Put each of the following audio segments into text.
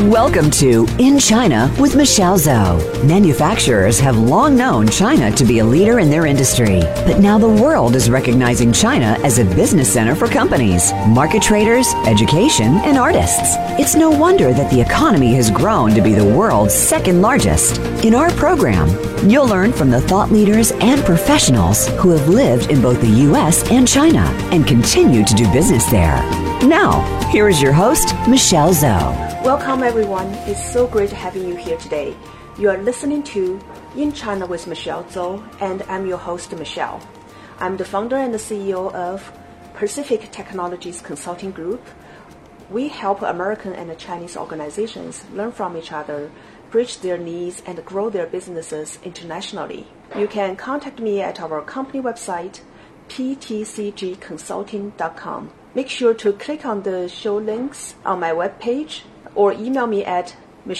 Welcome to In China with Michelle Zhou. Manufacturers have long known China to be a leader in their industry, but now the world is recognizing China as a business center for companies, market traders, education, and artists. It's no wonder that the economy has grown to be the world's second largest. In our program, you'll learn from the thought leaders and professionals who have lived in both the U.S. and China and continue to do business there. Now, here is your host, Michelle Zhou. Welcome everyone, it's so great having you here today. You are listening to In China with Michelle Zhou, and I'm your host, Michelle. I'm the founder and the CEO of Pacific Technologies Consulting Group. We help American and Chinese organizations learn from each other, bridge their needs, and grow their businesses internationally. You can contact me at our company website, ptcgconsulting.com. Make sure to click on the show links on my webpage or email me at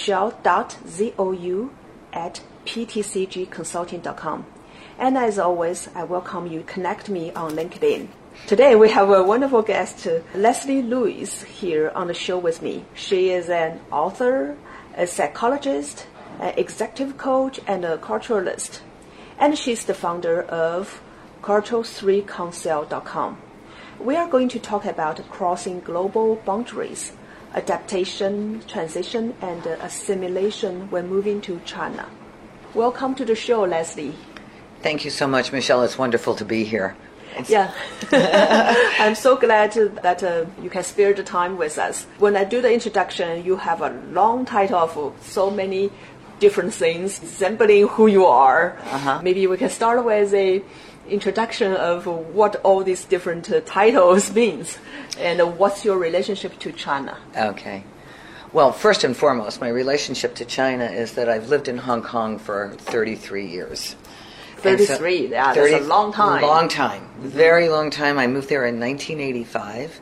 michelle.zhou@ptcgconsulting.com. And as always, I welcome you to connect me on LinkedIn. Today we have a wonderful guest, Leslie Lewis, here on the show with me. She is an author, a psychologist, an executive coach, and a culturalist. And she's the founder of Cultural3Council.com. We are going to talk about crossing global boundaries, adaptation, transition, and assimilation when moving to China. Welcome to the show, Leslie. Thank you so much, Michelle. It's wonderful to be here. Yeah, I'm so glad that you can spare the time with us. When I do the introduction, you have a long title of so many different things resembling who you are. Maybe we can start with a introduction of what all these different titles means and what's your relationship to China. Okay. Well, first and foremost, my relationship to China is that I've lived in Hong Kong for 33 years. 33, yeah, that's a long time. Long time, very long time. I moved there in 1985.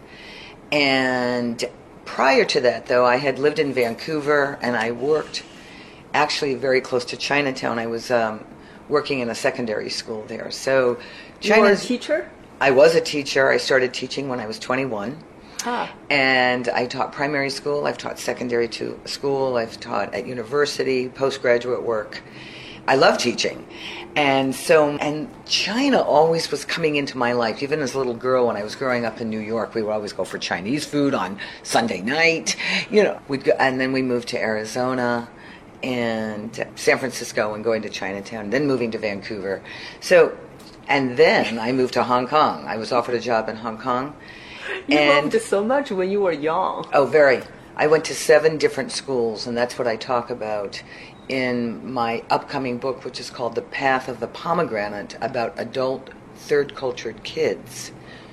And prior to that, though, I had lived in Vancouver and I worked actually very close to Chinatown. I was working in a secondary school there. So you were a teacher? I was a teacher. I started teaching when I was 21. And I taught primary school. I've taught secondary school. I've taught at university, postgraduate work. I love teaching. And China always was coming into my life. Even as a little girl, when I was growing up in New York, we would always go for Chinese food on Sunday night. We'd go, and then we moved to Arizona and San Francisco and going to Chinatown, then moving to Vancouver. And then I moved to Hong Kong. I was offered a job in Hong Kong. You moved so much when you were young. Oh, very. I went to 7 different schools, and that's what I talk about in my upcoming book, which is called The Path of the Pomegranate, about adult third-cultured kids.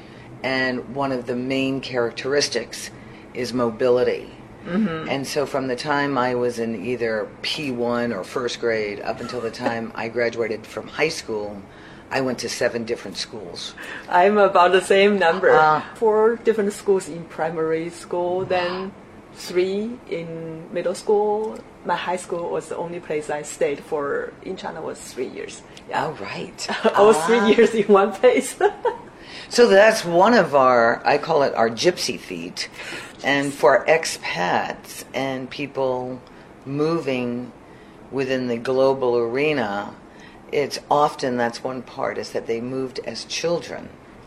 And one of the main characteristics is mobility. Mm-hmm. And so from the time I was in either P1 or first grade up until the time I graduated from high school, I went to 7 different schools. I'm about the same number. 4 different schools in primary school, then 3 in middle school. My high school was the only place I stayed for in China was 3 years. Yeah. Oh, right. I was 3 years in one place. So that's one of I call it our gypsy feet. And for expats and people moving within the global arena, it's often, that's one part, is that they moved as children.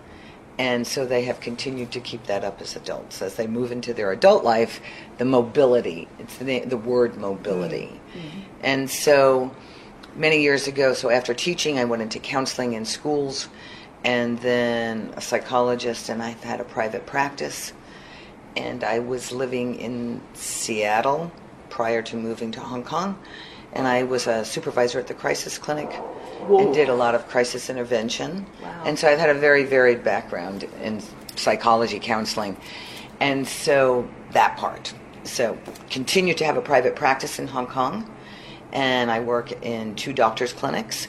And so they have continued to keep that up as adults. As they move into their adult life, the mobility, it's the word mobility. Mm-hmm. And so many years ago, so after teaching, I went into counseling in schools, and then a psychologist, and I've had a private practice. And I was living in Seattle prior to moving to Hong Kong. And I was a supervisor at the crisis clinic. Whoa. And did a lot of crisis intervention. Wow. And so I've had a very varied background in psychology, counseling. And so that part. So continue to have a private practice in Hong Kong. And I work in 2 doctors' clinics.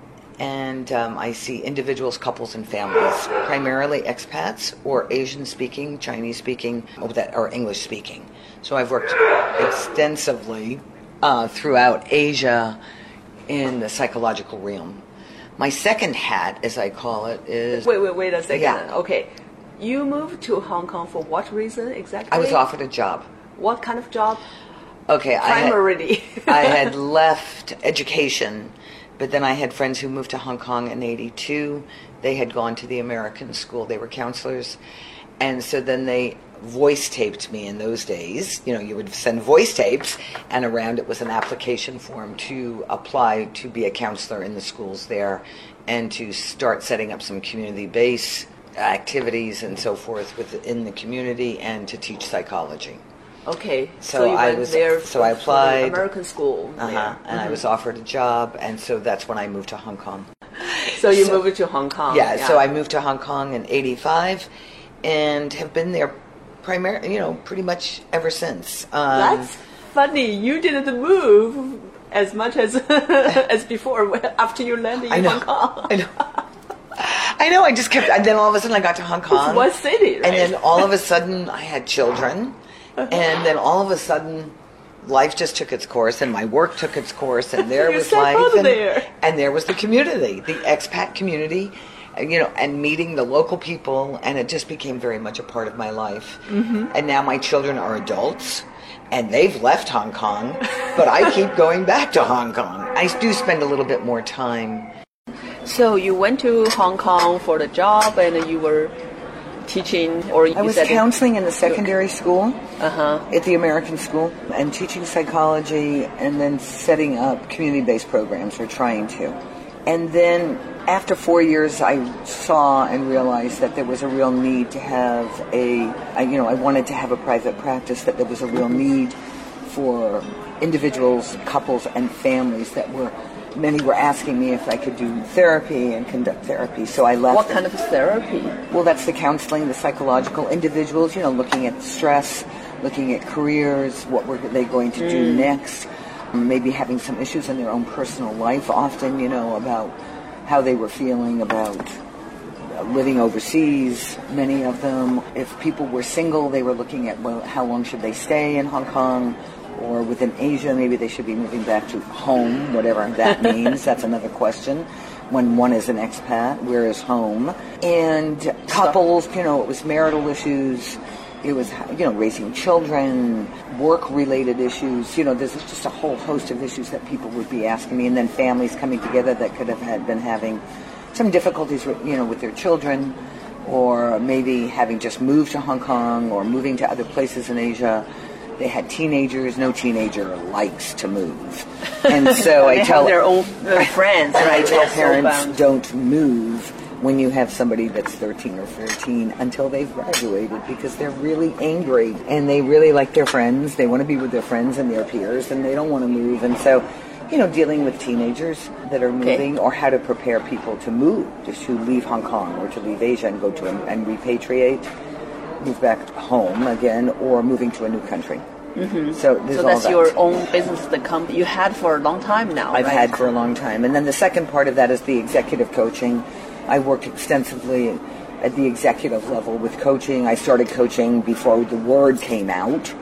And I see individuals, couples, and families, primarily expats or Asian-speaking, Chinese-speaking, or English-speaking. So I've worked extensively throughout Asia in the psychological realm. My second hat, as I call it, is... Wait a second. Yeah. Okay. You moved to Hong Kong for what reason exactly? I was offered a job. What kind of job? Okay, primarily. I had left education, but then I had friends who moved to Hong Kong in '82. They had gone to the American school. They were counselors. And so then they voice taped me in those days. You know, you would send voice tapes, and around it was an application form to apply to be a counselor in the schools there and to start setting up some community-based activities and so forth within the community and to teach psychology. Okay, So you I went was- there so I for the applied. American school. there. And I was offered a job, and so that's when I moved to Hong Kong. So you moved to Hong Kong. Yeah, so I moved to Hong Kong in '85 and have been there primarily, pretty much ever since. That's funny. You didn't move as much as as before after you landed in Hong Kong. I know, I just kept, and then all of a sudden I got to Hong Kong. It's one city, right? And then all of a sudden I had children, and then all of a sudden life just took its course, and my work took its course, and there You was settled life. there. And there was the community, the expat community, and meeting the local people, and it just became very much a part of my life. Mm-hmm. And now my children are adults, and they've left Hong Kong, but I keep going back to Hong Kong. I do spend a little bit more time. So you went to Hong Kong for the job, and you were teaching, or you I was said counseling in the secondary school at the American school and teaching psychology and then setting up community-based programs, or trying to. And then after 4 years, I saw and realized that there was a real need to have I wanted to have a private practice, that there was a real need for individuals, couples, and families many were asking me if I could do therapy and conduct therapy, so I left. What kind of therapy? Well, that's the counseling, the psychological. Individuals, looking at stress, looking at careers, what were they going to do next, maybe having some issues in their own personal life, often, about how they were feeling about living overseas, many of them. If people were single, they were looking at, well, how long should they stay in Hong Kong? Or within Asia, maybe they should be moving back to home, whatever that means. That's another question. When one is an expat, where is home? And couples, it was marital issues. It was, raising children, work-related issues. There's just a whole host of issues that people would be asking me. And then families coming together that could have been having some difficulties, with their children, or maybe having just moved to Hong Kong or moving to other places in Asia. They had teenagers. No teenager likes to move, and so I tell their own friends. And right? I tell They're parents, don't move when you have somebody that's 13 or 14 until they've graduated, because they're really angry and they really like their friends. They want to be with their friends and their peers, and they don't want to move. And so, dealing with teenagers that are moving, or how to prepare people to move, just to leave Hong Kong or to leave Asia and go to and repatriate. Move back home again, or moving to a new country. Mm-hmm. So that's your own business, the company you had for a long time now. I've had for a long time. And then the second part of that is the executive coaching. I worked extensively at the executive level with coaching. I started coaching before the word came out.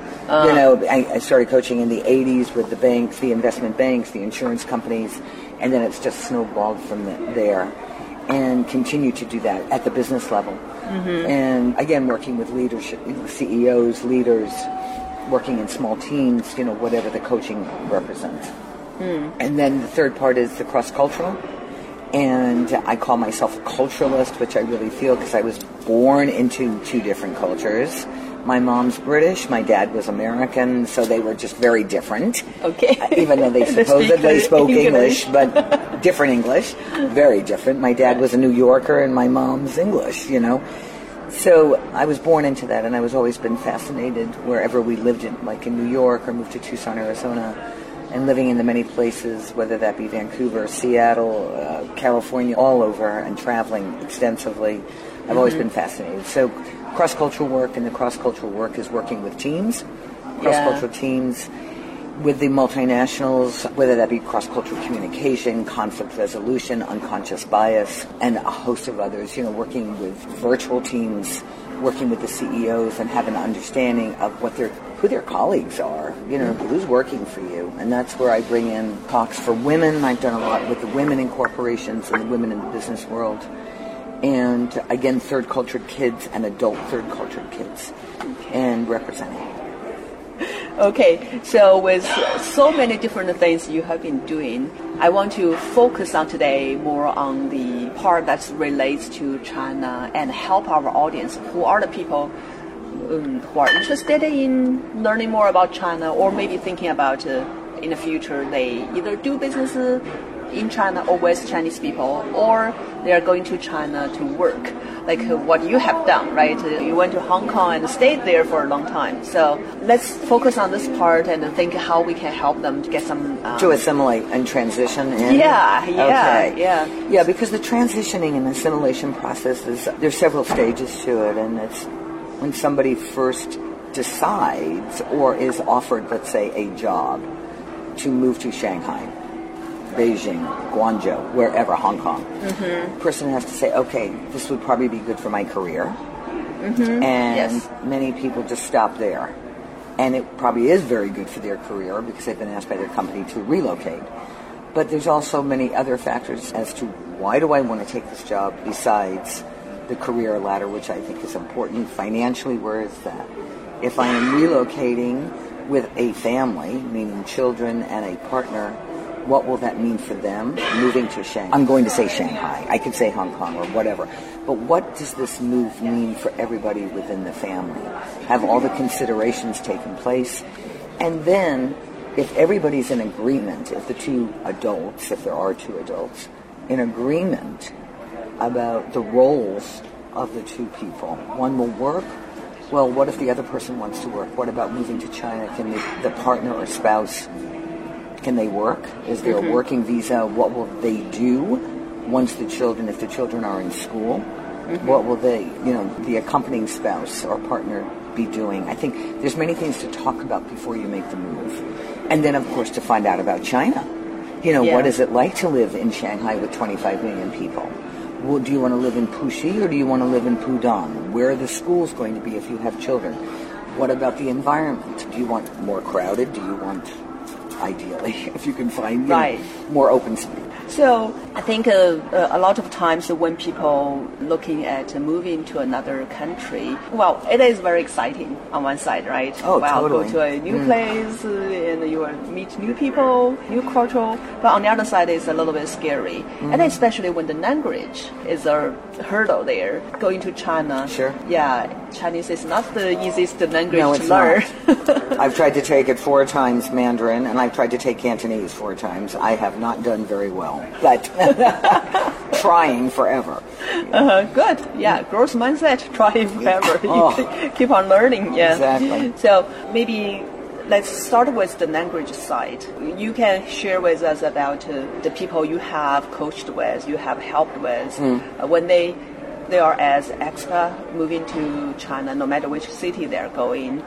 I started coaching in the 80s with the banks, the investment banks, the insurance companies, and then it's just snowballed from there. And continue to do that at the business level. Mm-hmm. And again, working with leadership, CEOs, leaders, working in small teams, whatever the coaching represents. Mm. And then the third part is the cross-cultural. And I call myself a culturalist, which I really feel, because I was born into two different cultures. My mom's British, my dad was American, so they were just very different. Okay. Even though they supposedly spoke English, but different English, very different. My dad was a New Yorker and my mom's English, So I was born into that, and I was always been fascinated wherever we lived in, like in New York, or moved to Tucson, Arizona, and living in the many places, whether that be Vancouver, Seattle, California, all over, and traveling extensively. I've always been fascinated. So cross-cultural work, and the cross-cultural work is working with teams, cross-cultural teams with the multinationals, whether that be cross-cultural communication, conflict resolution, unconscious bias, and a host of others, working with virtual teams, working with the CEOs, and have an understanding of who their colleagues are, who's working for you. And that's where I bring in talks for women. I've done a lot with the women in corporations and the women in the business world. And again, third cultured kids and adult third cultured kids, and representing. Okay, so with so many different things you have been doing, I want to focus on today more on the part that relates to China and help our audience, who are the people who are interested in learning more about China, or maybe thinking about in the future they either do business in China or with Chinese people, or they are going to China to work, like what you have done, right? You went to Hong Kong and stayed there for a long time. So let's focus on this part and think how we can help them to get some... to assimilate and transition in? Yeah, because the transitioning and assimilation process there's several stages to it, and it's when somebody first decides or is offered, let's say, a job to move to Shanghai, Beijing, Guangzhou, wherever, Hong Kong. The person has to say, okay, this would probably be good for my career. And many people just stop there. And it probably is very good for their career because they've been asked by their company to relocate. But there's also many other factors as to why do I want to take this job besides the career ladder, which I think is important. Financially, where is that? If I am relocating with a family, meaning children and a partner, what will that mean for them moving to Shanghai? I'm going to say Shanghai. I could say Hong Kong or whatever. But what does this move mean for everybody within the family? Have all the considerations taken place? And then, if everybody's in agreement, if the two adults, if there are two adults, in agreement about the roles of the two people, one will work. Well, what if the other person wants to work? What about moving to China? Can the partner or spouse, can they work? Is there a working visa? What will they do once if the children are in school? What will the accompanying spouse or partner be doing? I think there's many things to talk about before you make the move. And then, of course, to find out about China. What is it like to live in Shanghai with 25 million people? Well, do you want to live in Puxi or do you want to live in Pudong? Where are the schools going to be if you have children? What about the environment? Do you want more crowded? Do you want, ideally, if you can find more open space? So I think a lot of times when people looking at moving to another country, well, it is very exciting on one side, right? Oh, totally. Go to a new place and you will meet new people, new culture. But on the other side, it's a little bit scary. And especially when the language is a hurdle there. Going to China, Chinese is not the easiest language to learn. I've tried to take it 4 times, Mandarin, and I've tried to take Cantonese 4 times. I have not done very well, but trying forever. Good. Yeah, growth mindset, trying forever. Keep on learning. Yeah. Exactly. So maybe let's start with the language side. You can share with us about the people you have coached with, you have helped with, when they are as expat moving to China, no matter which city they're going.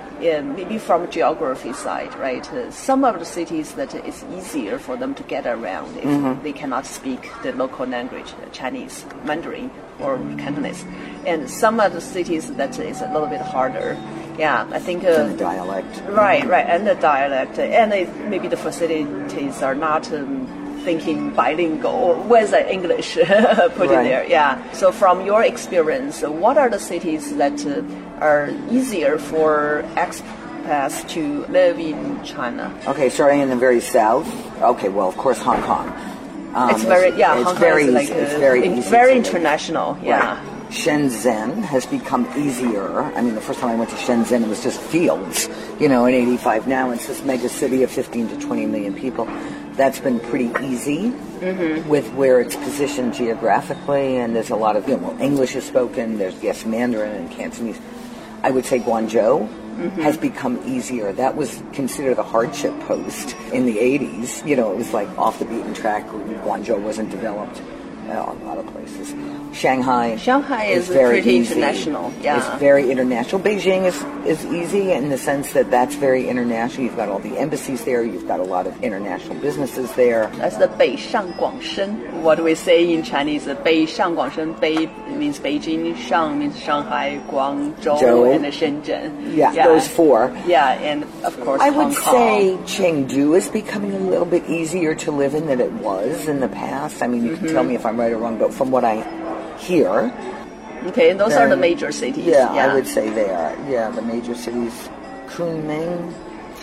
Maybe from geography side, right? Some of the cities that it's easier for them to get around if they cannot speak the local language, Chinese, Mandarin, or Cantonese. And some of the cities that is a little bit harder. Yeah, I think... and the dialect. Right, and the dialect. And maybe the facilities are not... thinking bilingual with English put in there. Yeah. So from your experience, what are the cities that are easier for expats to live in China? Okay, starting in the very south. Okay, well, of course, Hong Kong. It's very Hong Kong very is like it's very easy, very international. Yeah. Right. Shenzhen has become easier. I mean, the first time I went to Shenzhen, it was just fields, in 85. Now it's this mega city of 15 to 20 million people. That's been pretty easy with where it's positioned geographically, and there's a lot of, English is spoken. There's Mandarin and Cantonese. I would say Guangzhou has become easier. That was considered a hardship post in the 80s. It was like off the beaten track. Guangzhou wasn't developed. A lot of places. Shanghai is very pretty easy. International. Yeah. It's very international. Beijing is easy in the sense that that's very international. You've got all the embassies there. You've got a lot of international businesses there. That's the 北上广深. What do we say in Chinese? 北上广深. 北 means Beijing, 上 means Shanghai, Guangzhou, and Shenzhen. Yeah, those 4. Yeah, and of course I Hong would Kong. say Chengdu is becoming a little bit easier to live in than it was in the past. I mean, you can tell me if I'm right or wrong, but from what I hear... Okay, those are the major cities. Yeah, I would say they are. Yeah, the major cities Kunming.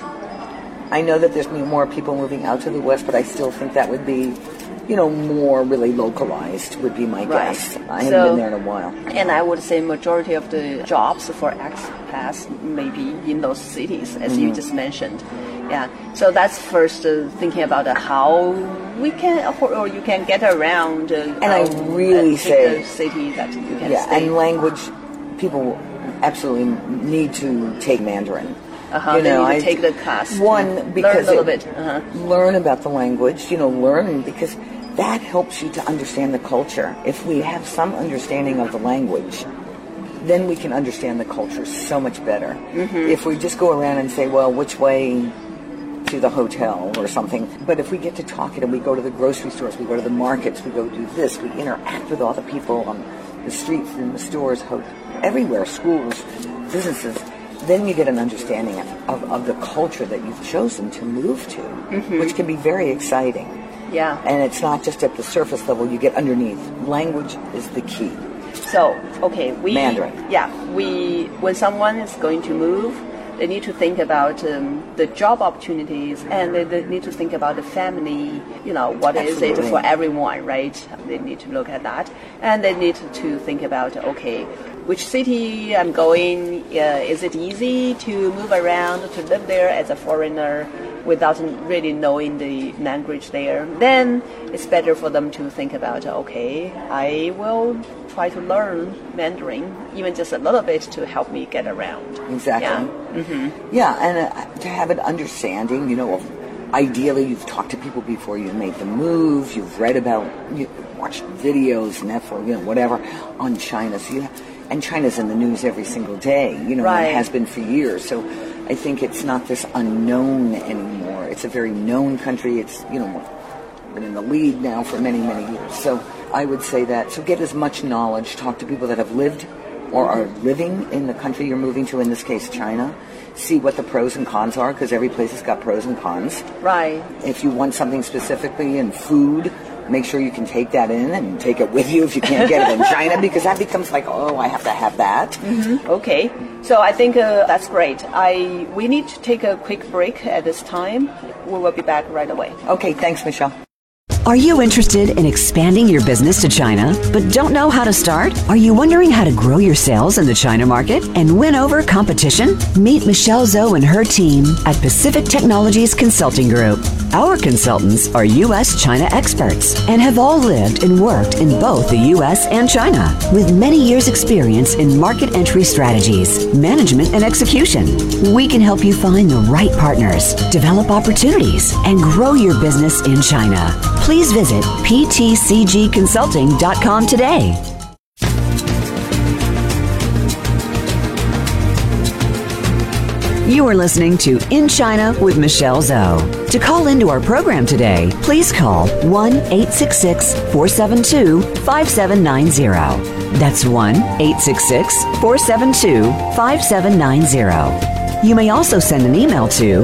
I know that there's more people moving out to the West, but I still think that would be, more really localized would be my guess. I haven't been there in a while. And I would say majority of the jobs for expats may be in those cities, as you just mentioned. Yeah. So that's first thinking about how we can, or you can get around. And I really say the city that you can yeah, stay. and language, people absolutely need to take Mandarin. They need to take the class. One, because learn a little bit. Learn about the language, learn because that helps you to understand the culture. If we have some understanding of the language, then we can understand the culture so much better. If we just go around and say, well, which way to the hotel or something, but if we get to talking and we go to the grocery stores, we go to the markets, we go do this, we interact with all the people on the streets, in the stores, everywhere, schools, businesses, then you get an understanding of the culture that you've chosen to move to, which can be very exciting. Yeah. And it's not just at the surface level, you get underneath. Language is the key. So, Mandarin. Yeah, when someone is going to move, they need to think about the job opportunities, and they need to think about the family, what Absolutely. is it for everyone, right? They need to look at that. And they need to think about, which city I'm going, is it easy to move around, to live there as a foreigner without really knowing the language there? Then it's better for them to think about, I will try to learn Mandarin, even just a little bit, to help me get around. Exactly. Yeah, and to have an understanding, of ideally you've talked to people before you made the move, you've read about, watched videos, Netflix, whatever, on China. And China's in the news every single day, Right. It has been for years. So I think it's not this unknown anymore. It's a very known country. It's, been in the lead now for many, many years. So I would say that. So get as much knowledge, talk to people that have lived or are living in the country you're moving to, in this case China. See what the pros and cons are, because every place has got pros and cons. Right. If you want something specifically in food, make sure you can take that in and take it with you if you can't get it in China, because that becomes like, I have to have that. Okay. So I think that's great. We need to take a quick break at this time. We will be back right away. Okay, thanks, Michelle. Are you interested in expanding your business to China, but don't know how to start? Are you wondering how to grow your sales in the China market and win over competition? Meet Michelle Zhou and her team at Pacific Technologies Consulting Group. Our consultants are U.S.-China experts and have all lived and worked in both the U.S. and China, with many years' experience in market entry strategies, management, and execution. We can help you find the right partners, develop opportunities, and grow your business in China. Please visit ptcgconsulting.com today. You are listening to In China with Michelle Zhou. To call into our program today, please call 1-866-472-5790. That's 1-866-472-5790. You may also send an email to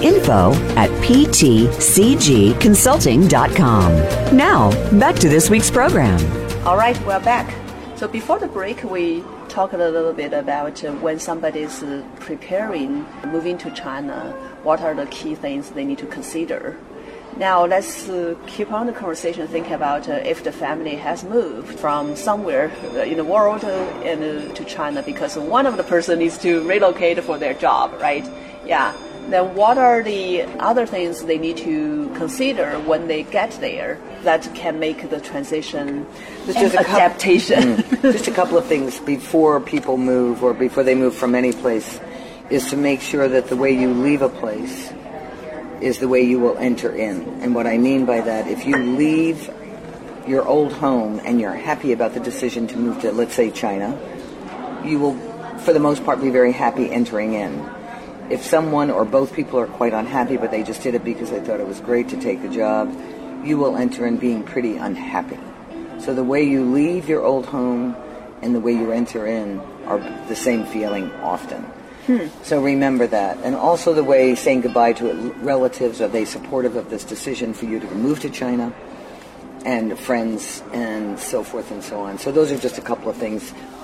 info@ptcgconsulting.com. Now, back to this week's program. All right, we're back. So before the break, we talked a little bit about when somebody is preparing, moving to China, what are the key things they need to consider. Now let's keep on the conversation, thinking about if the family has moved from somewhere in the world to China because one of the person needs to relocate for their job, right? Yeah. Then what are the other things they need to consider when they get there that can make the transition and adaptation? Just a couple of things before people move or before they move from any place is to make sure that the way you leave a place is the way you will enter in. And what I mean by that, if you leave your old home and you're happy about the decision to move to, let's say, China, you will, for the most part, be very happy entering in. If someone or both people are quite unhappy, but they just did it because they thought it was great to take the job, you will enter in being pretty unhappy. So the way you leave your old home and the way you enter in are the same feeling often. So remember that. And also the way saying goodbye to relatives, are they supportive of this decision for you to move to China? And friends and so forth and so on. So those are just a couple of things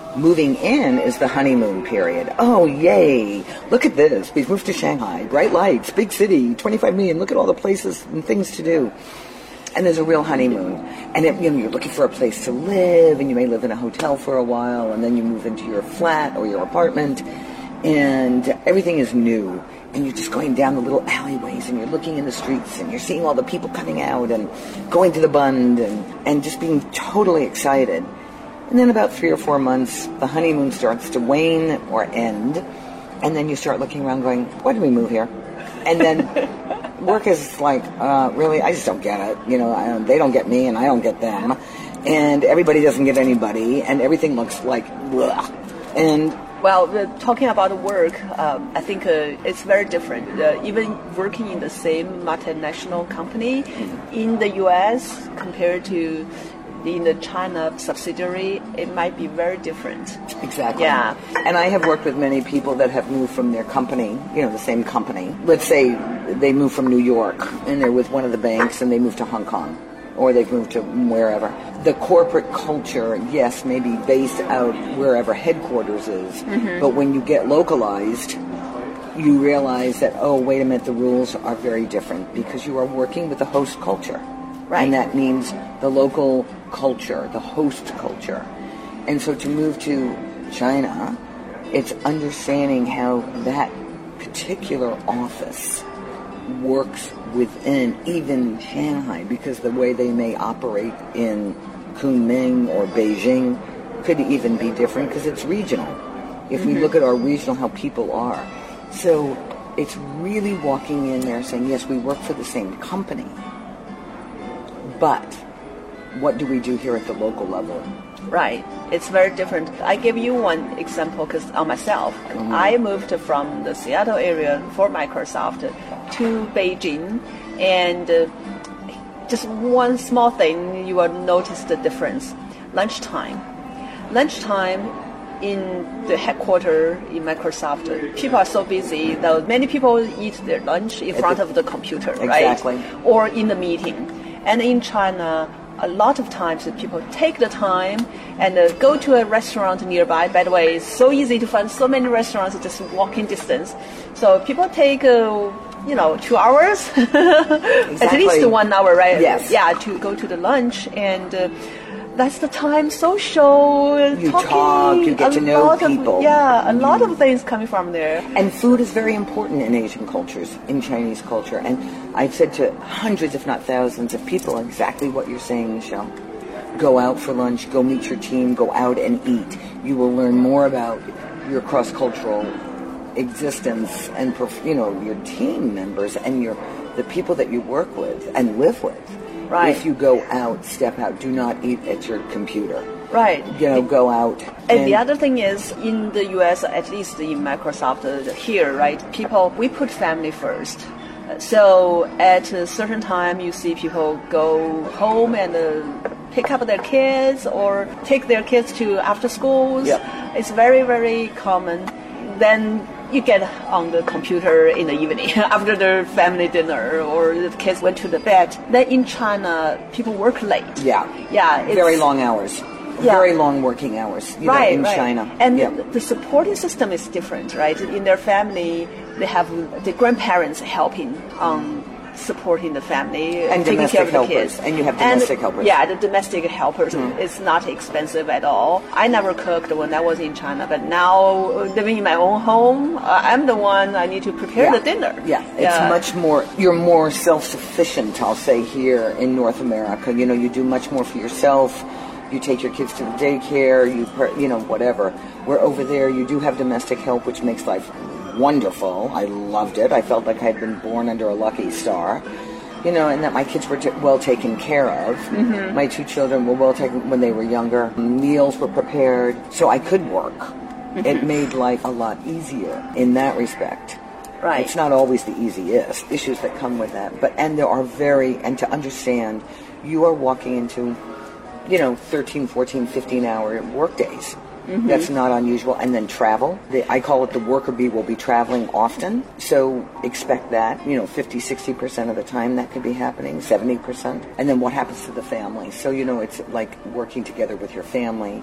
moving in is the honeymoon period. Oh, yay. Look at this. We've moved to Shanghai. Bright lights, big city, 25 million. Look at all the places and things to do. And there's a real honeymoon. And you're looking for a place to live, and you may live in a hotel for a while, and then you move into your flat or your apartment, and everything is new. And you're just going down the little alleyways, and you're looking in the streets, and you're seeing all the people coming out and going to the Bund, and just being totally excited. And then about 3 or 4 months, the honeymoon starts to wane or end, and then you start looking around going, why did we move here? And then work is like, really, I just don't get it. They don't get me, and I don't get them. And everybody doesn't get anybody, and everything looks like, bleh. And well, talking about work, I think it's very different. Even working in the same multinational company in the U.S. compared to in the China subsidiary, it might be very different. Exactly. Yeah. And I have worked with many people that have moved from their company, the same company. Let's say they move from New York and they're with one of the banks and they move to Hong Kong, or they've moved to wherever. The corporate culture, yes, may be based out wherever headquarters is, but when you get localized, you realize that, oh, wait a minute, the rules are very different because you are working with the host culture. Right. And that means the local culture, the host culture. And so to move to China, it's understanding how that particular office works within even Shanghai, because the way they may operate in Kunming or Beijing could even be different because it's regional. If we look at our regional, how people are. So it's really walking in there saying, yes, we work for the same company, but what do we do here at the local level? Right. It's very different. I give you one example because on myself, I moved from the Seattle area for Microsoft to Beijing, and just one small thing, you will notice the difference. Lunchtime in the headquarters in Microsoft, people are so busy that many people eat their lunch in front of the computer, right? Exactly. Or in the meeting. And in China, a lot of times people take the time and go to a restaurant nearby. By the way, it's so easy to find so many restaurants just walking distance. So people take 2 hours, at least 1 hour, right? Yes. Yeah, to go to the lunch, and that's the time social, you talking, talk, you get to know people. A lot of things coming from there. And food is very important in Asian cultures, in Chinese culture. And I've said to hundreds, if not thousands, of people exactly what you're saying, Michelle. Go out for lunch, go meet your team, go out and eat. You will learn more about your cross-cultural existence and your team members and the people that you work with and live with. Right. If you go out, step out. Do not eat at your computer. Right. Go out. And the other thing is, in the U.S., at least in Microsoft here, right, we put family first. So at a certain time, you see people go home and pick up their kids or take their kids to after schools. Yep. It's very, very common. Then you get on the computer in the evening after the family dinner or the kids went to the bed. Then in China, people work late. Yeah. Very long hours. Yeah. Very long working hours in China. And the supporting system is different, right? In their family, they have the grandparents helping supporting the family, and taking care of the helpers. kids. And you have domestic helpers. Yeah, the domestic helpers is not expensive at all. I never cooked when I was in China, but now living in my own home, I'm the one I need to prepare the dinner. Yeah, it's much more, you're more self-sufficient, I'll say, here in North America. You do much more for yourself. You take your kids to the daycare, whatever. Where over there, you do have domestic help, which makes life wonderful. I loved it. I felt like I had been born under a lucky star. And that my kids were well taken care of. Mm-hmm. My 2 children were well taken when they were younger. Meals were prepared, so I could work. Mm-hmm. It made life a lot easier in that respect. Right. It's not always the easiest issues that come with that, and there are and to understand, you are walking into 13, 14, 15-hour work days. Mm-hmm. That's not unusual. And then travel. I call it the worker bee will be traveling often. So expect that, 50, 60% of the time that could be happening, 70%. And then what happens to the family? So, it's like working together with your family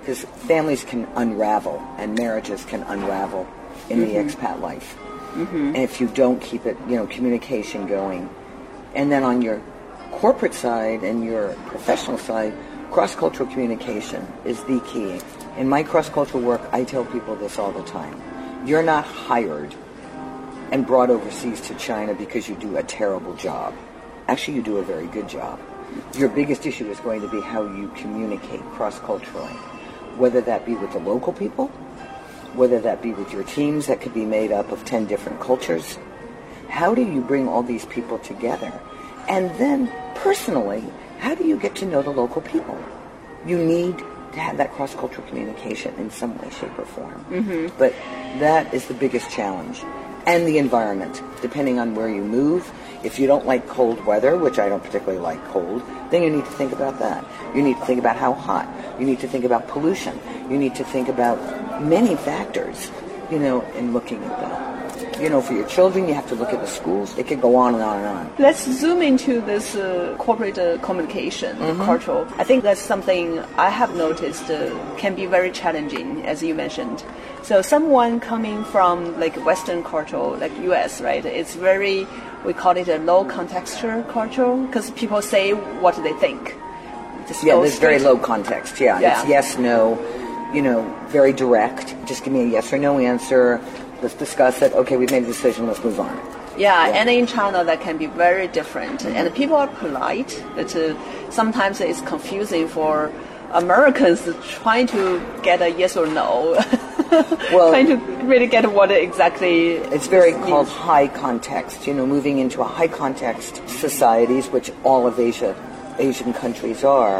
because families can unravel and marriages can unravel in the expat life. And if you don't keep it, communication going. And then on your corporate side and your professional side, cross-cultural communication is the key. In my cross-cultural work, I tell people this all the time. You're not hired and brought overseas to China because you do a terrible job. Actually, you do a very good job. Your biggest issue is going to be how you communicate cross-culturally, whether that be with the local people, whether that be with your teams that could be made up of 10 different cultures. How do you bring all these people together? And then, personally, how do you get to know the local people? You need to have that cross-cultural communication in some way, shape, or form. But that is the biggest challenge. And the environment, depending on where you move. If you don't like cold weather, which I don't particularly like cold, then you need to think about that. You need to think about how hot. You need to think about pollution. You need to think about many factors, in looking at that. For your children, you have to look at the schools. It could go on and on and on. Let's zoom into this corporate communication, cultural. I think that's something I have noticed can be very challenging, as you mentioned. So someone coming from like Western culture, like US, right? It's very, we call it a low contextual culture because people say what they think. There's very low context. Yeah, it's yes, no, very direct. Just give me a yes or no answer. Let's discuss it. Okay, we've made a decision. Let's move on. Yeah, and in China that can be very different. And people are polite, but sometimes it's confusing for Americans trying to get a yes or no. Well, trying to really get what exactly it's very called high context. Moving into a high context societies, which all of Asian countries are,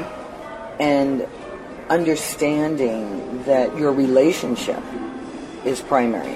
and understanding that your relationship is primary.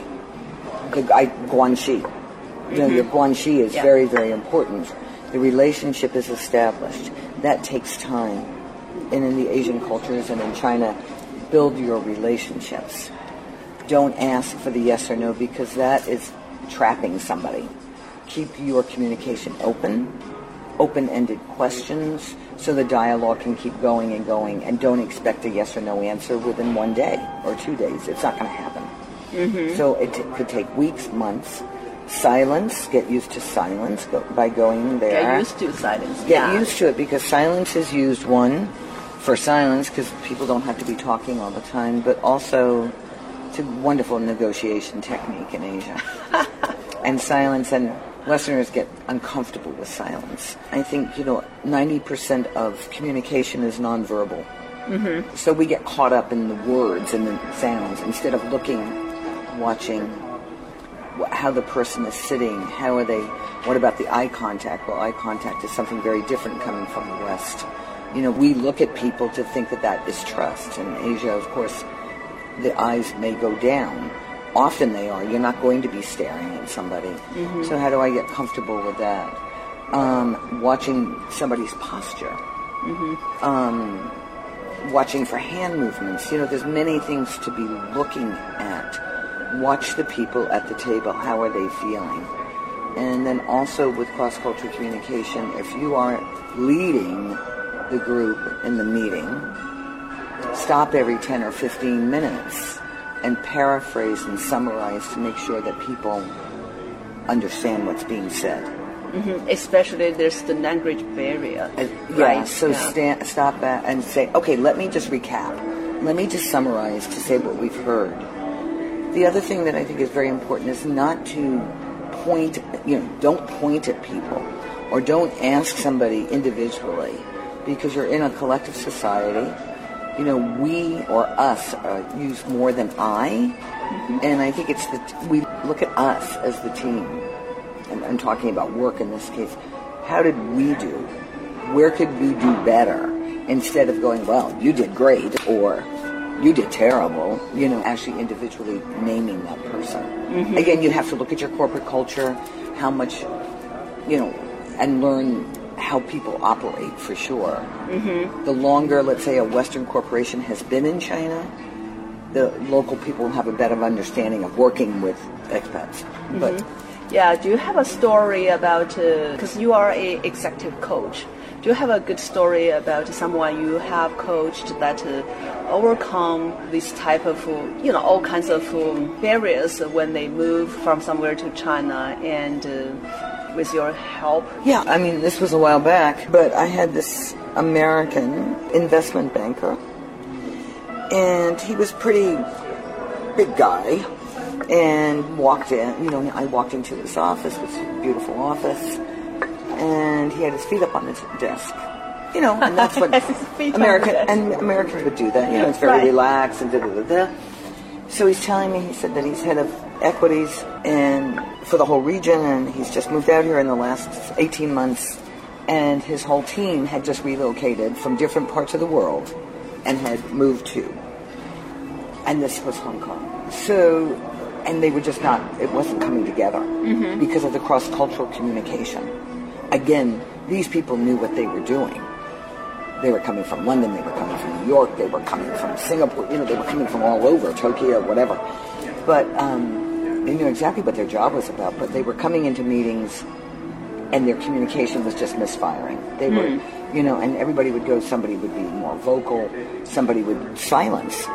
Guanxi. Your Guanxi is very, very important. The relationship is established. That takes time. And in the Asian cultures and in China, build your relationships. Don't ask for the yes or no because that is trapping somebody. Keep your communication open-ended questions so the dialogue can keep going and going, and don't expect a yes or no answer within 1 day or 2 days. It's not going to happen. So it could take weeks, months. Silence, get used to silence by going there. Get used to silence. Get used to it because silence is used, one, for silence because people don't have to be talking all the time, but also it's a wonderful negotiation technique in Asia. And silence, and Westerners get uncomfortable with silence. I think, 90% of communication is nonverbal. So we get caught up in the words and the sounds instead of watching how the person is sitting, how are they, what about the eye contact? Well, eye contact is something very different coming from the West. We look at people to think that is trust. In Asia, of course, the eyes may go down. Often they are. You're not going to be staring at somebody. So how do I get comfortable with that? Watching somebody's posture. Watching for hand movements. There's many things to be looking at. Watch the people at the table. How are they feeling? And then also with cross-cultural communication, if you are leading the group in the meeting, stop every 10 or 15 minutes and paraphrase and summarize to make sure that people understand what's being said. Especially there's the language barrier. Right? So stop that and say, okay, let me just recap. Let me just summarize to say what we've heard. The other thing that I think is very important is not to point, don't point at people or don't ask somebody individually because you're in a collective society. We or us use more than I, and I think it's we look at us as the team. And I'm talking about work in this case. How did we do? Where could we do better? Instead of going, well, you did great, or you did terrible, actually individually naming that person. Again, you have to look at your corporate culture, how much, and learn how people operate for sure. The longer, let's say, a Western corporation has been in China, the local people have a better understanding of working with expats. But do you have a story about, because you are a executive coach, do Do you have a good story about someone you have coached that overcome this type of, all kinds of barriers when they move from somewhere to China and with your help? Yeah, I mean, this was a while back, but I had this American investment banker, and he was pretty big guy, and walked in, I walked into his office, which was a beautiful office, and he had his feet up on his desk. And that's what Americans would do that. It's very relaxed and da-da-da-da. So he's telling me, he said that he's head of equities and for the whole region, and he's just moved out here in the last 18 months, and his whole team had just relocated from different parts of the world and had moved to. And this was Hong Kong. So, and they were just not, it wasn't coming together because of the cross-cultural communication. Again, these people knew what they were doing. They were coming from London, they were coming from New York, they were coming from Singapore, they were coming from all over, Tokyo, whatever. But they knew exactly what their job was about, but they were coming into meetings and their communication was just misfiring. They were, and everybody would go, somebody would be more vocal, somebody would silence.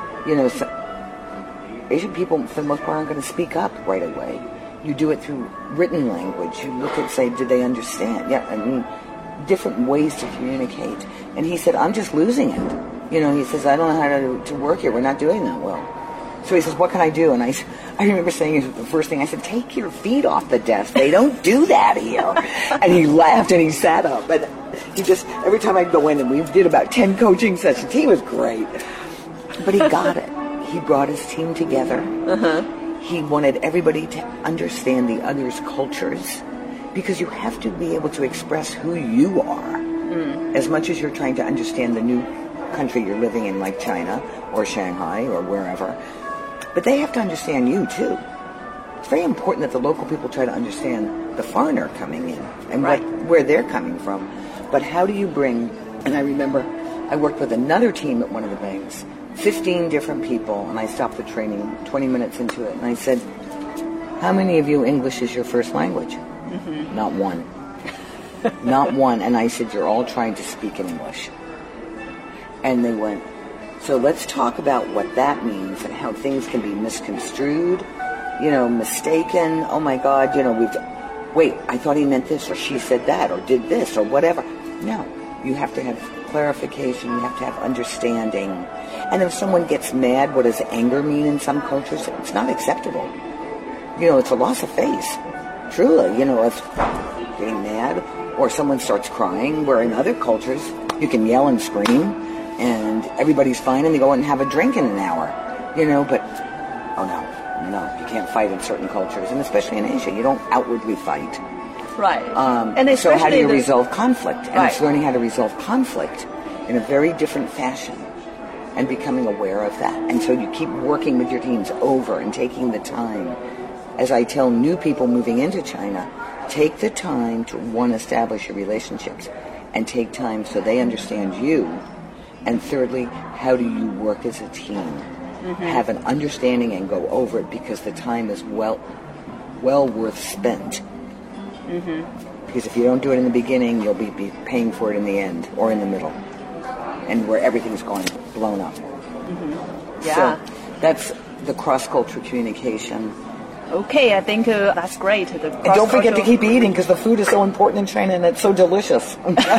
Asian people, for the most part, aren't going to speak up right away. You do it through written language. You look at, say, did they understand? Yeah, I mean, different ways to communicate. And he said, I'm just losing it. He says, I don't know how to work here. We're not doing that well. So he says, what can I do? And I remember saying the first thing, I said, take your feet off the desk. They don't do that here. And he laughed and he sat up. And he just, every time I'd go in, and we did about 10 coaching sessions. He was great. But he got it. He brought his team together. He wanted everybody to understand the other's cultures, because you have to be able to express who you are as much as you're trying to understand the new country you're living in, like China or Shanghai or wherever. But they have to understand you too. It's very important that the local people try to understand the foreigner coming in and where they're coming from. But how do you bring, and I remember I worked with another team at one of the banks, 15 different people, and I stopped the training 20 minutes into it, and I said, how many of you English is your first language? Not one. Not one. And I said, you're all trying to speak in English. And they went, so let's talk about what that means and how things can be misconstrued, mistaken. Oh my God, wait, I thought he meant this, or she said that, or did this, or whatever. No, you have to have clarification, you have to have understanding. And if someone gets mad, what does anger mean in some cultures? It's not acceptable. It's a loss of face. Truly, if getting mad, or someone starts crying, where in other cultures, you can yell and scream, and everybody's fine, and they go and have a drink in an hour, but, oh no, you can't fight in certain cultures, and especially in Asia, you don't outwardly fight. Right. And so how do you resolve conflict? And it's learning how to resolve conflict in a very different fashion and becoming aware of that. And so you keep working with your teams over and taking the time. As I tell new people moving into China, take the time to, one, establish your relationships, and take time so they understand you. And thirdly, how do you work as a team? Have an understanding and go over it, because the time is well worth spent. Because if you don't do it in the beginning, you'll be paying for it in the end or in the middle, and where everything's gone blown up. Yeah. So that's the cross-cultural communication. Okay, I think that's great. And don't forget to keep eating, because the food is so important in China and it's so delicious.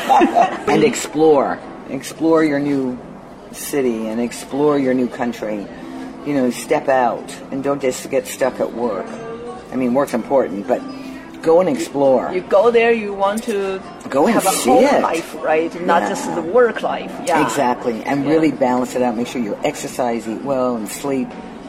And explore. Explore your new city and explore your new country. Step out and don't just get stuck at work. I mean, work's important, but go and explore. You go there, you want to go and have a home life, right? Not just the work life. Yeah. Exactly. And really balance it out. Make sure you exercise, eat well, and sleep.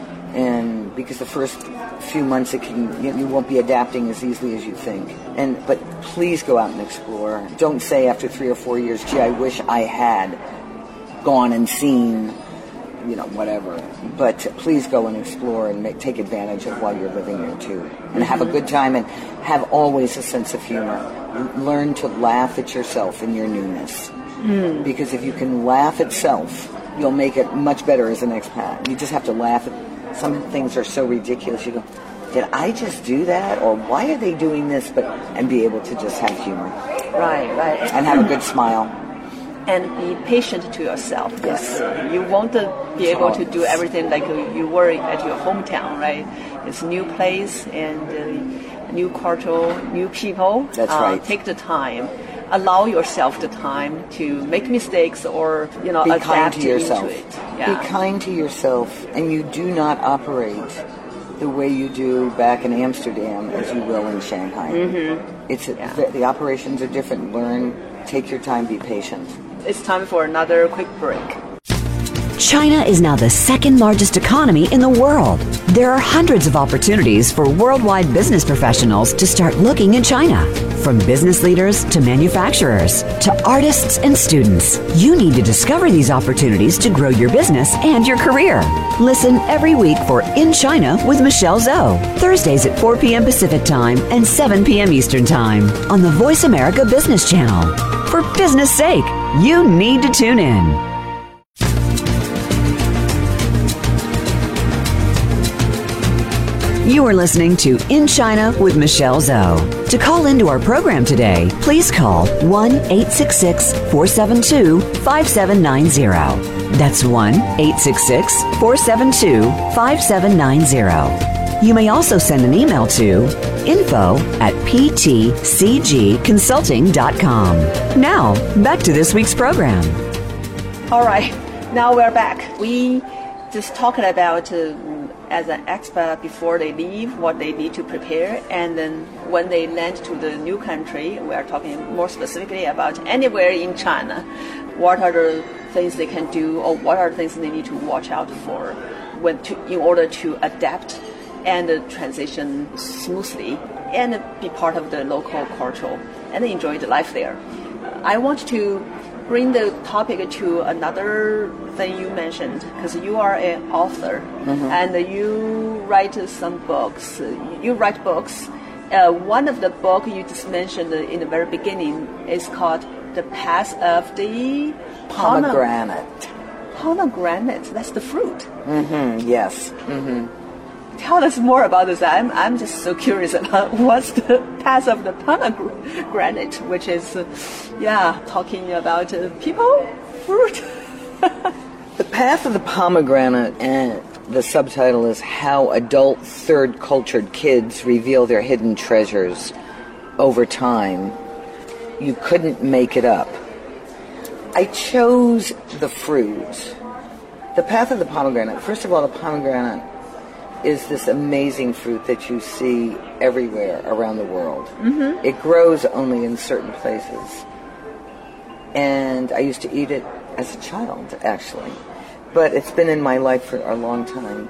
And because the first few months you won't be adapting as easily as you think. But please go out and explore. Don't say after 3 or 4 years, gee, I wish I had gone and seen, whatever. But please go and explore and take advantage of while you're living here too. And have a good time, and have always a sense of humor. Learn to laugh at yourself in your newness. Because if you can laugh at self, you'll make it much better as an expat. You just have to laugh at some things are so ridiculous. You go, did I just do that? Or why are they doing this? And be able to just have humor. Right. and have a good smile. And be patient to yourself, because you won't be able to do everything like you were at your hometown, right? It's a new place and new culture, new people. That's right. Take the time. Allow yourself the time to make mistakes or, Be adapt kind to yourself. into it. Yeah. Be kind to yourself, and you do not operate the way you do back in Amsterdam as you will in Shanghai. Mm-hmm. The operations are different. Learn, take your time, be patient. It's time for another quick break. China is now the second largest economy in the world. There are hundreds of opportunities for worldwide business professionals to start looking in China. From business leaders to manufacturers to artists and students, you need to discover these opportunities to grow your business and your career. Listen every week for In China with Michelle Zhou, Thursdays at 4 p.m. Pacific Time and 7 p.m. Eastern Time on the Voice America Business Channel. For business sake, you need to tune in. You are listening to In China with Michelle Zhou. To call into our program today, please call 1-866-472-5790. That's 1-866-472-5790. You may also send an email to info@ptcgconsulting.com. Now, back to this week's program. All right, now we're back. We just talking about as an expat before they leave, what they need to prepare, and then when they land to the new country, we are talking more specifically about anywhere in China. What are the things they can do, or what are the things they need to watch out for in order to adapt and transition smoothly and be part of the local culture and enjoy the life there. I want to bring the topic to another thing you mentioned, because you are an author, and you write some books. You write books. One of the books you just mentioned in the very beginning is called The Path of the Pomegranate. Pomegranate, that's the fruit. Yes. Tell us more about this. I'm just so curious about what's the path of the pomegranate, which is, talking about people, fruit. The Path of the Pomegranate, and the subtitle is How Adult Third Cultured Kids Reveal Their Hidden Treasures Over Time. You couldn't make it up. I chose the fruit. The Path of the Pomegranate. First of all, the pomegranate is this amazing fruit that you see everywhere around the world. It grows only in certain places. And I used to eat it as a child, actually. But it's been in my life for a long time.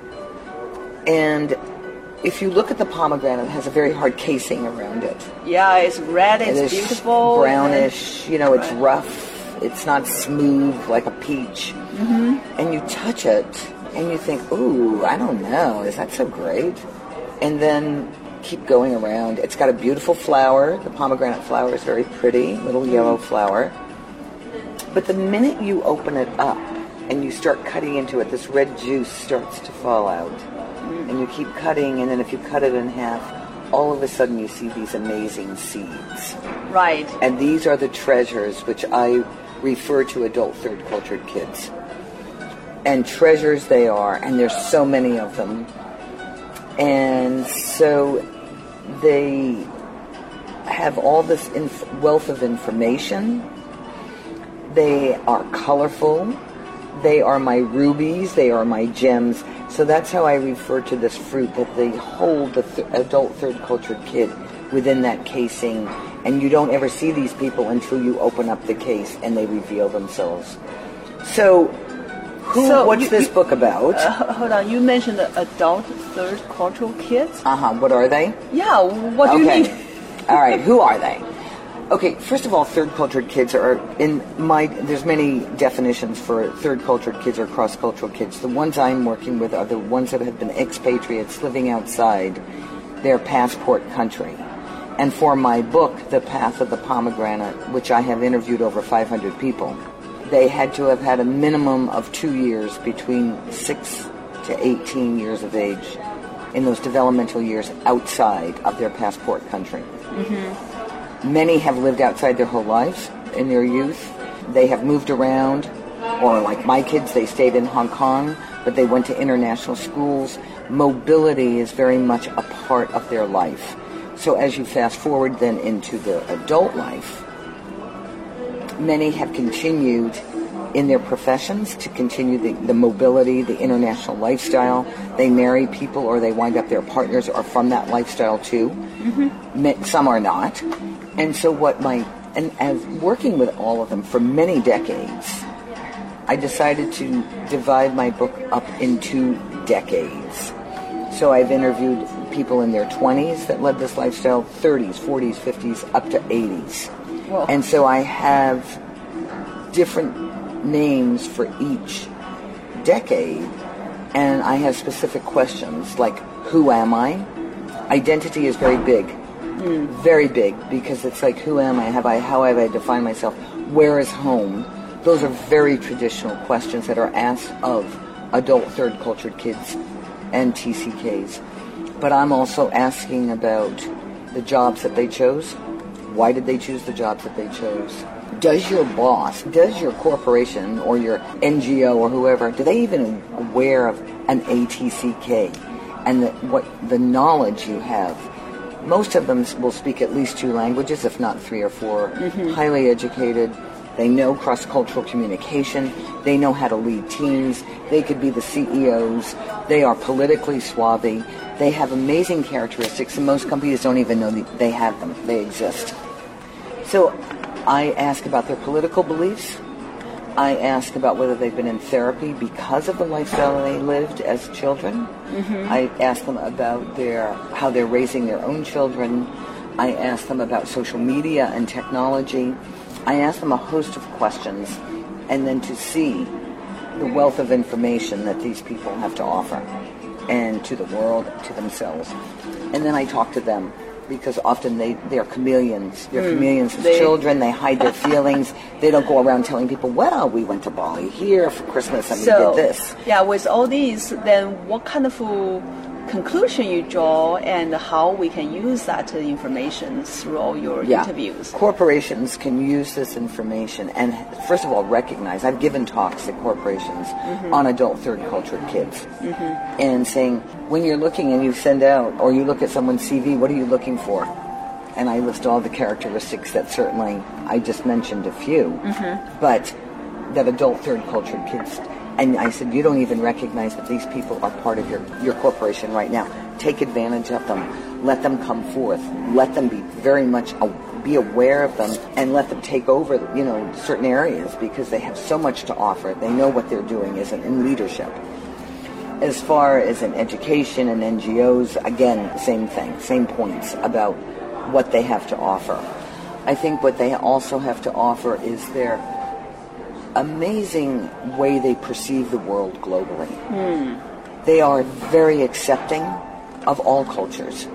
And if you look at the pomegranate, it has a very hard casing around it. Yeah, it's red, it's beautiful. Brownish, it's rough. It's not smooth like a peach. And you touch it, and you think, ooh, I don't know, is that so great? And then keep going around. It's got a beautiful flower. The pomegranate flower is very pretty, little yellow flower. But the minute you open it up and you start cutting into it, this red juice starts to fall out. And you keep cutting, and then if you cut it in half, all of a sudden you see these amazing seeds. Right. And these are the treasures which I refer to adult third cultured kids. And treasures they are, and there's so many of them. And so they have all this wealth of information. They are colorful. They are my rubies. They are my gems. So that's how I refer to this fruit, that they hold the adult third cultured kid within that casing. And you don't ever see these people until you open up the case and they reveal themselves. So what's this book about? Hold on, you mentioned adult third cultural kids? What are they? Yeah, what do you mean? All right, who are they? Okay, first of all, third cultured kids are, there's many definitions for third cultured kids or cross-cultural kids. The ones I'm working with are the ones that have been expatriates living outside their passport country. And for my book, The Path of the Pomegranate, which I have interviewed over 500 people, they had to have had a minimum of 2 years between 6 to 18 years of age in those developmental years outside of their passport country. Many have lived outside their whole lives in their youth. They have moved around, or like my kids, they stayed in Hong Kong, but they went to international schools. Mobility is very much a part of their life. So as you fast forward then into the adult life, many have continued in their professions to continue the mobility, the international lifestyle. They marry people or they wind up their partners are from that lifestyle too. Mm-hmm. Some are not. And so and as working with all of them for many decades, I decided to divide my book up into decades. So I've interviewed people in their 20s that led this lifestyle, 30s, 40s, 50s, up to 80s. Whoa. And so I have different names for each decade, and I have specific questions like, who am I? Identity is very big, very big, because it's like, who am I? How have I defined myself? Where is home? Those are very traditional questions that are asked of adult third cultured kids and TCKs. But I'm also asking about the jobs that they chose. Why did they choose the jobs that they chose? Does your boss, does your corporation or your NGO or whoever, do they even aware of an ATCK and the knowledge you have? Most of them will speak at least 2 languages, if not 3 or 4, highly educated. They know cross-cultural communication. They know how to lead teams. They could be the CEOs. They are politically savvy. They have amazing characteristics, and most companies don't even know they have them. They exist. So I ask about their political beliefs. I ask about whether they've been in therapy because of the lifestyle they lived as children. Mm-hmm. I ask them about how they're raising their own children. I ask them about social media and technology. I ask them a host of questions, and then to see the wealth of information that these people have to offer, and to the world, to themselves. And then I talk to them, because often they're chameleons. They're chameleons as children. They hide their feelings. They don't go around telling people, well, we went to Bali here for Christmas and we did this. Yeah, with all these, then what kind of conclusion you draw and how we can use that information through all your interviews? Corporations can use this information and, first of all, recognize. I've given talks at corporations on adult third cultured kids and saying, when you're looking and you send out or you look at someone's CV, what are you looking for? And I list all the characteristics that certainly I just mentioned a few, but that adult third cultured kids. And I said, you don't even recognize that these people are part of your corporation right now. Take advantage of them. Let them come forth. Let them be very much be aware of them and let them take over, certain areas because they have so much to offer. They know what they're doing in leadership. As far as in education and NGOs, again, same thing, same points about what they have to offer. I think what they also have to offer is their amazing way they perceive the world globally. They are very accepting of all cultures.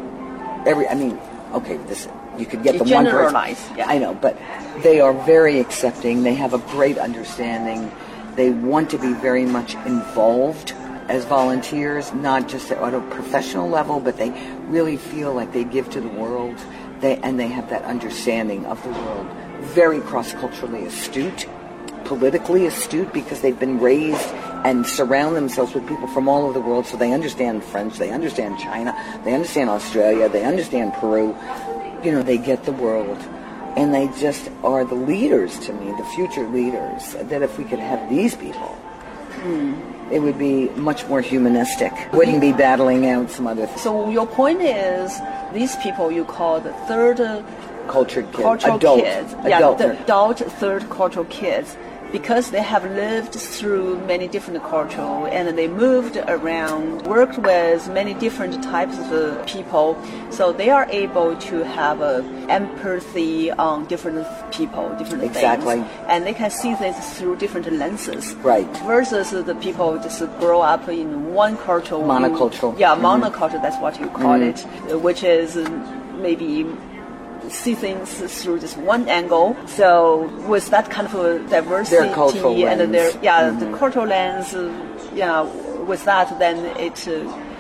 You could get the one person. Yeah. I know, but they are very accepting. They have a great understanding. They want to be very much involved as volunteers, not just at a professional level, but they really feel like they give to the world. They have that understanding of the world. Very cross-culturally astute. Politically astute because they've been raised and surround themselves with people from all over the world, so they understand French, they understand China, they understand Australia, they understand Peru. They get the world, and they just are the leaders to me, the future leaders, that if we could have these people, it would be much more humanistic. Wouldn't be battling out some other things. So your point is, these people you call the third cultured kids, adult third cultural kids, because they have lived through many different cultures and they moved around, worked with many different types of people, so they are able to have empathy on different people, different things, and they can see things through different lenses. Right. Versus the people just grow up in one culture. Monocultural. Monoculture, that's what you call it, which is maybe see things through just one angle. So with that kind of a diversity their cultural and lens. the cultural lens, with that, then it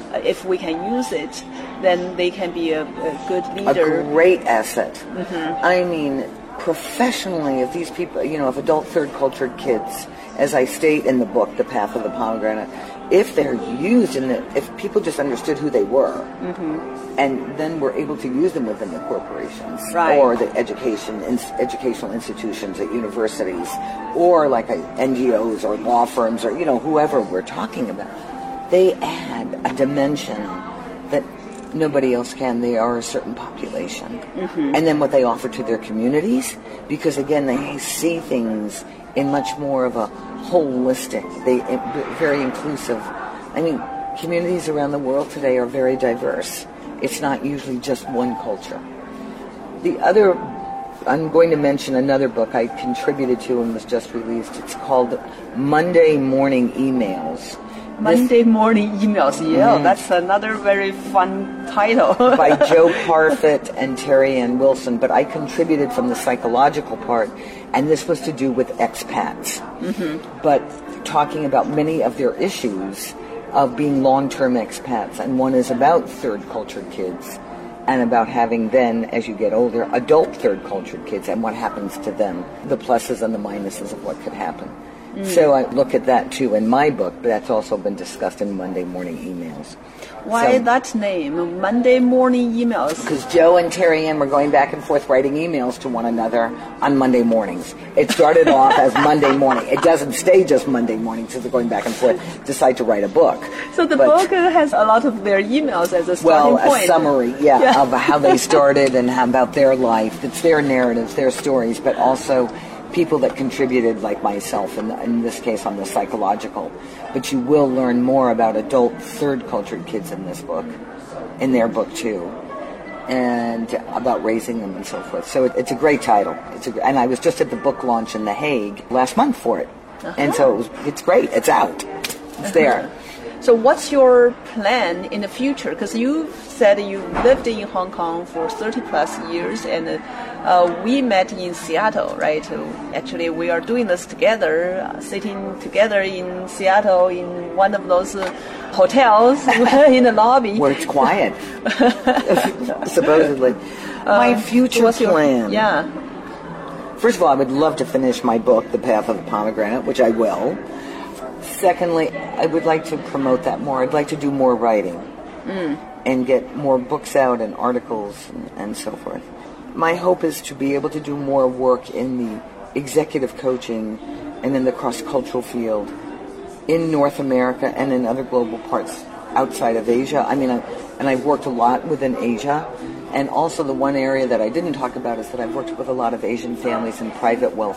if we can use it, then they can be a good leader. A great asset. I mean, professionally, if these people, if adult third cultured kids, as I state in the book, The Path of the Pomegranate, if they're used if people just understood who they were, and then were able to use them within the corporations, or the educational institutions at universities, or like NGOs or law firms, or whoever we're talking about, they add a dimension that nobody else can. They are a certain population. And then what they offer to their communities, because again, they see things in much more of a holistic, very inclusive. I mean, communities around the world today are very diverse. It's not usually just one culture. I'm going to mention another book I contributed to and was just released. It's called Monday Morning Emails. Monday Morning Emails, that's another very fun title. By Joe Parfit and Terry Ann Wilson, but I contributed from the psychological part, and this was to do with expats, but talking about many of their issues of being long-term expats, and one is about third-cultured kids, and about having then, as you get older, adult third-cultured kids, and what happens to them, the pluses and the minuses of what could happen. So I look at that too in my book, but that's also been discussed in Monday Morning Emails. Why that name, Monday Morning Emails? Because Joe and Terry Ann were going back and forth writing emails to one another on Monday mornings. It started off as Monday morning. It doesn't stay just Monday morning, so they're going back and forth, decide to write a book. So the book has a lot of their emails as a starting point. A summary, of how they started and how about their life. It's their narratives, their stories, but also people that contributed, like myself, in this case on the psychological. But you will learn more about adult third-cultured kids in this book, in their book too, and about raising them and so forth. So it's a great title. And I was just at the book launch in The Hague last month for it. And so it's great. It's out. It's there. So what's your plan in the future? Because you said you lived in Hong Kong for 30 plus years, and we met in Seattle, right? Actually, we are doing this together, sitting together in Seattle in one of those hotels in the lobby. Where it's quiet, supposedly. My future plan. First of all, I would love to finish my book, The Path of the Pomegranate, which I will. Secondly, I would like to promote that more. I'd like to do more writing and get more books out and articles and so forth. My hope is to be able to do more work in the executive coaching and in the cross-cultural field in North America and in other global parts outside of Asia. I mean, I've worked a lot within Asia. And also the one area that I didn't talk about is that I've worked with a lot of Asian families in private wealth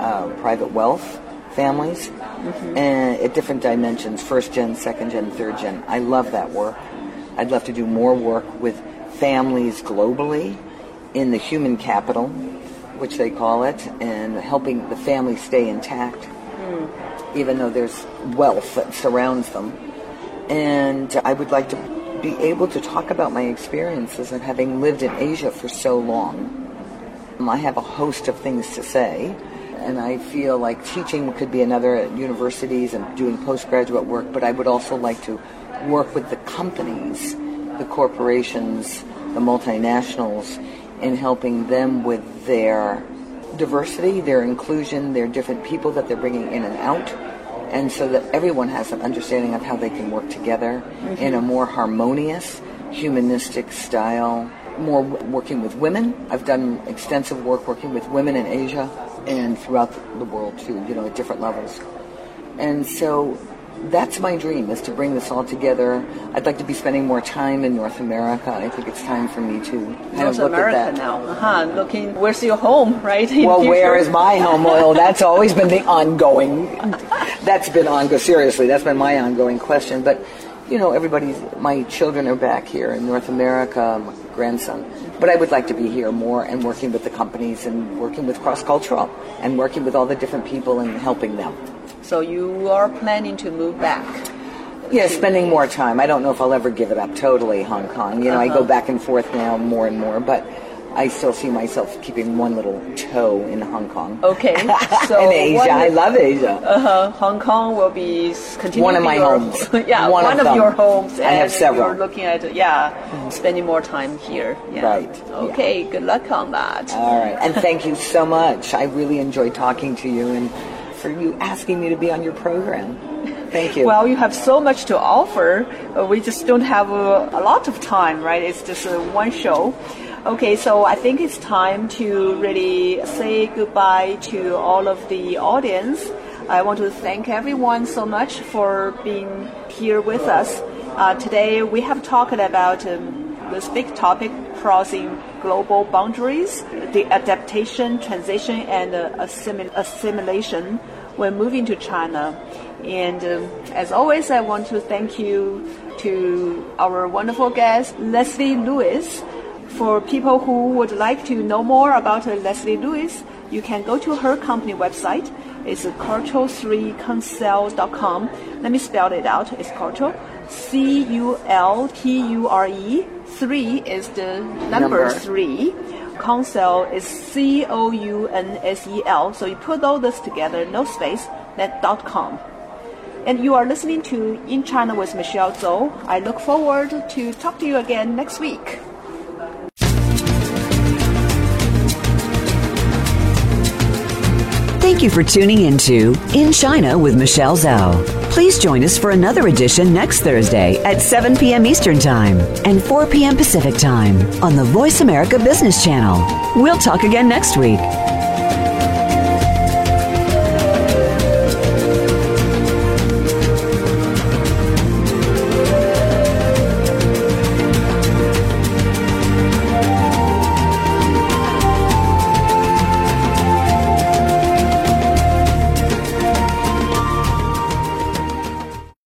families, and at different dimensions, first gen, second gen, third gen. I love that work. I'd love to do more work with families globally in the human capital, which they call it, and helping the family stay intact, even though there's wealth that surrounds them. And I would like to be able to talk about my experiences of having lived in Asia for so long. I have a host of things to say, and I feel like teaching could be another at universities and doing postgraduate work, but I would also like to work with the companies, the corporations, the multinationals, in helping them with their diversity, their inclusion, their different people that they're bringing in and out, and so that everyone has an understanding of how they can work together in a more harmonious, humanistic style, more working with women. I've done extensive work working with women in Asia and throughout the world too, at different levels. And so that's my dream, is to bring this all together. I'd like to be spending more time in North America. I think it's time for me to North look America at that. Now. Looking, where's your home, right? Well, where is my home? Well, that's always been the ongoing. That's been ongoing. Seriously, that's been my ongoing question. But my children are back here in North America, my grandson. But I would like to be here more and working with the companies and working with cross-cultural and working with all the different people and helping them. So you are planning to move back? Yeah, spending more time. I don't know if I'll ever give it up totally, Hong Kong. I go back and forth now more and more. But I still see myself keeping one little toe in Hong Kong. Okay. So in Asia. I love Asia. Hong Kong will be continuing one of my homes. Yeah, one of your homes. I have several. You're looking at, spending more time here. Yeah. Right. Okay, good luck on that. All right. And thank you so much. I really enjoyed talking to you and for you asking me to be on your program. Thank you. Well, you have so much to offer. We just don't have a lot of time, right? It's just one show. Okay, so I think it's time to really say goodbye to all of the audience. I want to thank everyone so much for being here with us. Today we have talked about this big topic, crossing global boundaries, the adaptation, transition, and assimilation when moving to China. And as always, I want to thank you to our wonderful guest, Leslie Lewis. For people who would like to know more about Leslie Lewis, you can go to her company website. It's culture3consult.com. Let me spell it out. It's culture, C-U-L-T-U-R-E. 3 is the number 3. Consult is C-O-U-N-S-E-L. So you put all this together, no space, then .com. And you are listening to In China with Michelle Zhou. I look forward to talk to you again next week. Thank you for tuning into In China with Michelle Zhou. Please join us for another edition next Thursday at 7 p.m. Eastern Time and 4 p.m. Pacific Time on the Voice America Business Channel. We'll talk again next week.